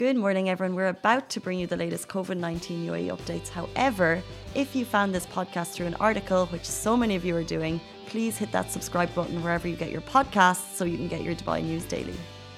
Good morning, everyone. We're about to bring you the latest COVID-19 UAE updates. However, if you found this podcast through an article, which so many of you are doing, please hit that subscribe button wherever you get your podcasts so you can get your Dubai news daily.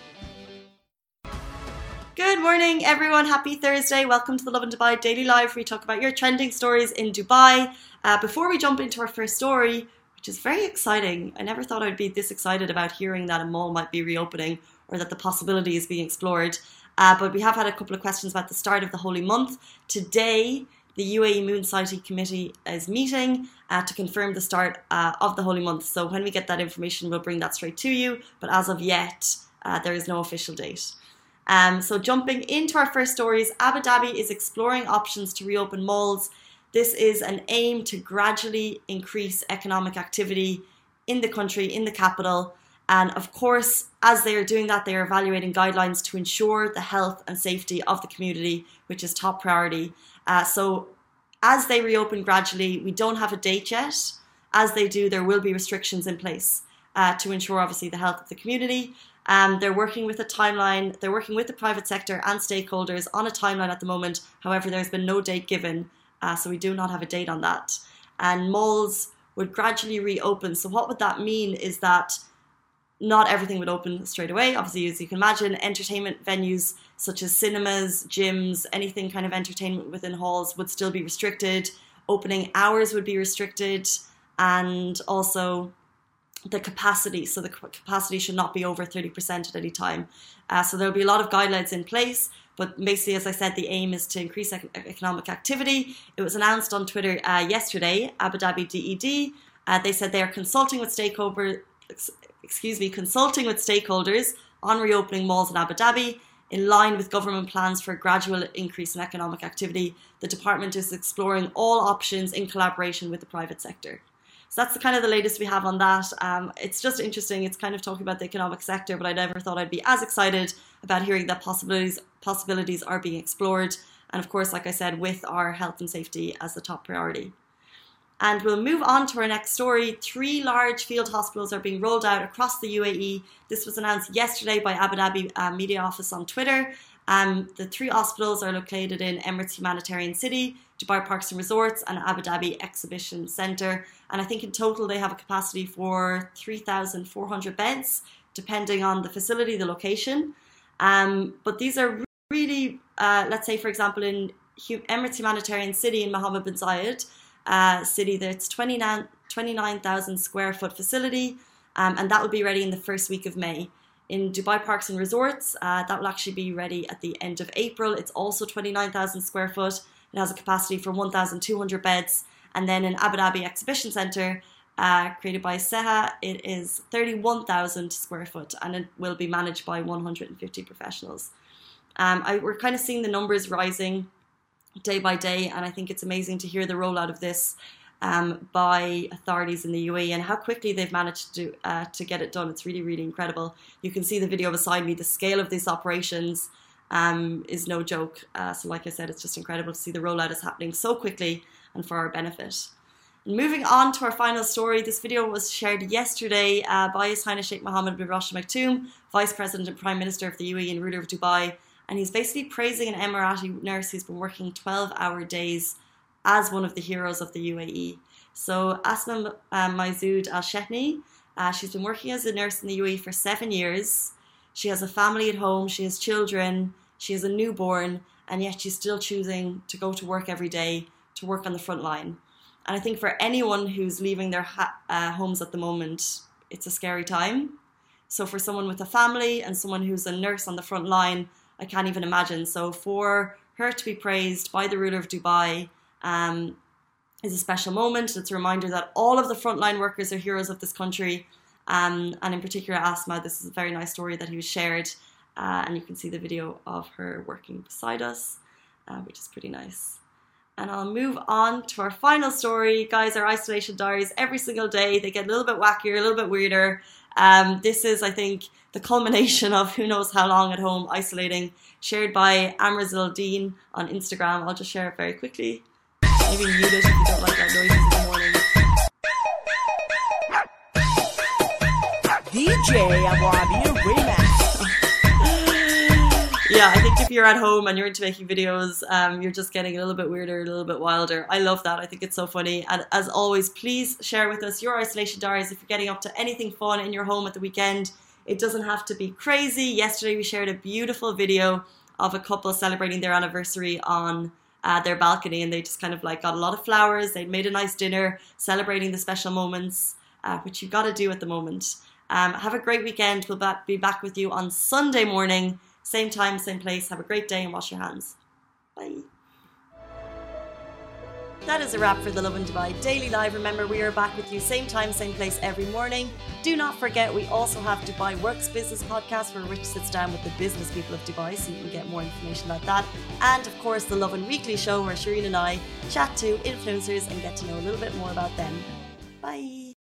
Good morning, everyone. Happy Thursday. Welcome to the Lovin Dubai Daily Live, where we talk about your trending stories in Dubai. Before we jump into our first story, which is very exciting. I never thought I'd be this excited about hearing that a mall might be reopening or that the possibility is being explored. But we have had a couple of questions about the start of the holy month. Today, the UAE Moon Society Committee is meeting to confirm the start of the holy month. So when we get that information, we'll bring that straight to you. But as of yet, there is no official date. So jumping into our first stories, Abu Dhabi is exploring options to reopen malls. This is an aim to gradually increase economic activity in the country, in the capital. And of course, as they are doing that, they are evaluating guidelines to ensure the health and safety of the community, which is top priority. So as they reopen gradually, we don't have a date yet. As they do, there will be restrictions in place to ensure, obviously, the health of the community. They're working with a timeline. They're working with the private sector and stakeholders on a timeline at the moment. However, there's been no date given, so we do not have a date on that. And malls would gradually reopen. So what would that mean is that not everything would open straight away. Obviously, as you can imagine, entertainment venues such as cinemas, gyms, anything kind of entertainment within halls would still be restricted. Opening hours would be restricted, and also the capacity. So the capacity should not be over 30% at any time. So there'll be a lot of guidelines in place. But basically, as I said, the aim is to increase economic activity. It was announced on Twitter yesterday, Abu Dhabi DED. They said they are consulting with stakeholders on reopening malls in Abu Dhabi. In line with government plans for a gradual increase in economic activity, the department is exploring all options in collaboration with the private sector. So that's kind of the latest we have on that. It's just interesting. It's kind of talking about the economic sector, but I never thought I'd be as excited about hearing that possibilities are being explored. And of course, like I said, with our health and safety as the top priority. And we'll move on to our next story. 3 large field hospitals are being rolled out across the UAE. This was announced yesterday by Abu Dhabi Media Office on Twitter. The 3 hospitals are located in Emirates Humanitarian City, Dubai Parks and Resorts, and Abu Dhabi Exhibition Centre. And I think in total they have a capacity for 3,400 beds, depending on the facility, the location. But these are really, let's say, for example, in Emirates Humanitarian City in Mohammed bin Zayed, city, that's 29,000 square foot facility, and that will be ready in the first week of May. In Dubai Parks and Resorts, that will actually be ready at the end of April. It's also 29,000 square foot. It has a capacity for 1,200 beds. And then in Abu Dhabi Exhibition Centre, created by Seha, it is 31,000 square foot, and it will be managed by 150 professionals. We're kind of seeing the numbers rising day by day, and I think it's amazing to hear the rollout of this by authorities in the UAE and how quickly they've managed to get it done. It's really, really incredible. You can see the video beside me. The scale of these operations is no joke. So like I said, it's just incredible to see the rollout is happening so quickly and for our benefit. And moving on to our final story, this video was shared yesterday by His Highness Sheikh Mohammed bin Rashid Al Maktoum, Vice President and Prime Minister of the UAE and ruler of Dubai. And he's basically praising an Emirati nurse who's been working 12-hour days as one of the heroes of the UAE. So Asma Maizood Al-Shehni, she's been working as a nurse in the UAE for 7 years. She has a family at home, she has children, she has a newborn, and yet she's still choosing to go to work every day, to work on the front line. And I think for anyone who's leaving their homes at the moment, it's a scary time. So for someone with a family and someone who's a nurse on the front line, I can't even imagine. So for her to be praised by the ruler of Dubai is a special moment. It's a reminder that all of the frontline workers are heroes of this country. And in particular, Asma, this is a very nice story that he was shared. And you can see the video of her working beside us, which is pretty nice. And I'll move on to our final story. Guys, our isolation diaries every single day. They get a little bit wackier, a little bit weirder. This is, I think, the culmination of who knows how long at home isolating, shared by Amrazil Dean on Instagram. I'll just share it very quickly. Maybe mute it if you don't like that noise in the morning. DJ Abu Abir Remix. Yeah, I think if you're at home and you're into making videos, you're just getting a little bit weirder, a little bit wilder. I love that. I think it's so funny. And as always, please share with us your isolation diaries if you're getting up to anything fun in your home at the weekend. It doesn't have to be crazy. Yesterday we shared a beautiful video of a couple celebrating their anniversary on their balcony, and they just kind of like got a lot of flowers. They'd made a nice dinner celebrating the special moments, which you've got to do at the moment. Have a great weekend. We'll be back with you on Sunday morning. Same time, same place. Have a great day and wash your hands. Bye. That is a wrap for the Lovin Dubai Daily Live. Remember, we are back with you same time, same place every morning. Do not forget, we also have Dubai Works Business Podcast, where Rich sits down with the business people of Dubai, so you can get more information about that. And of course, the Lovin Weekly Show, where Shireen and I chat to influencers and get to know a little bit more about them. Bye.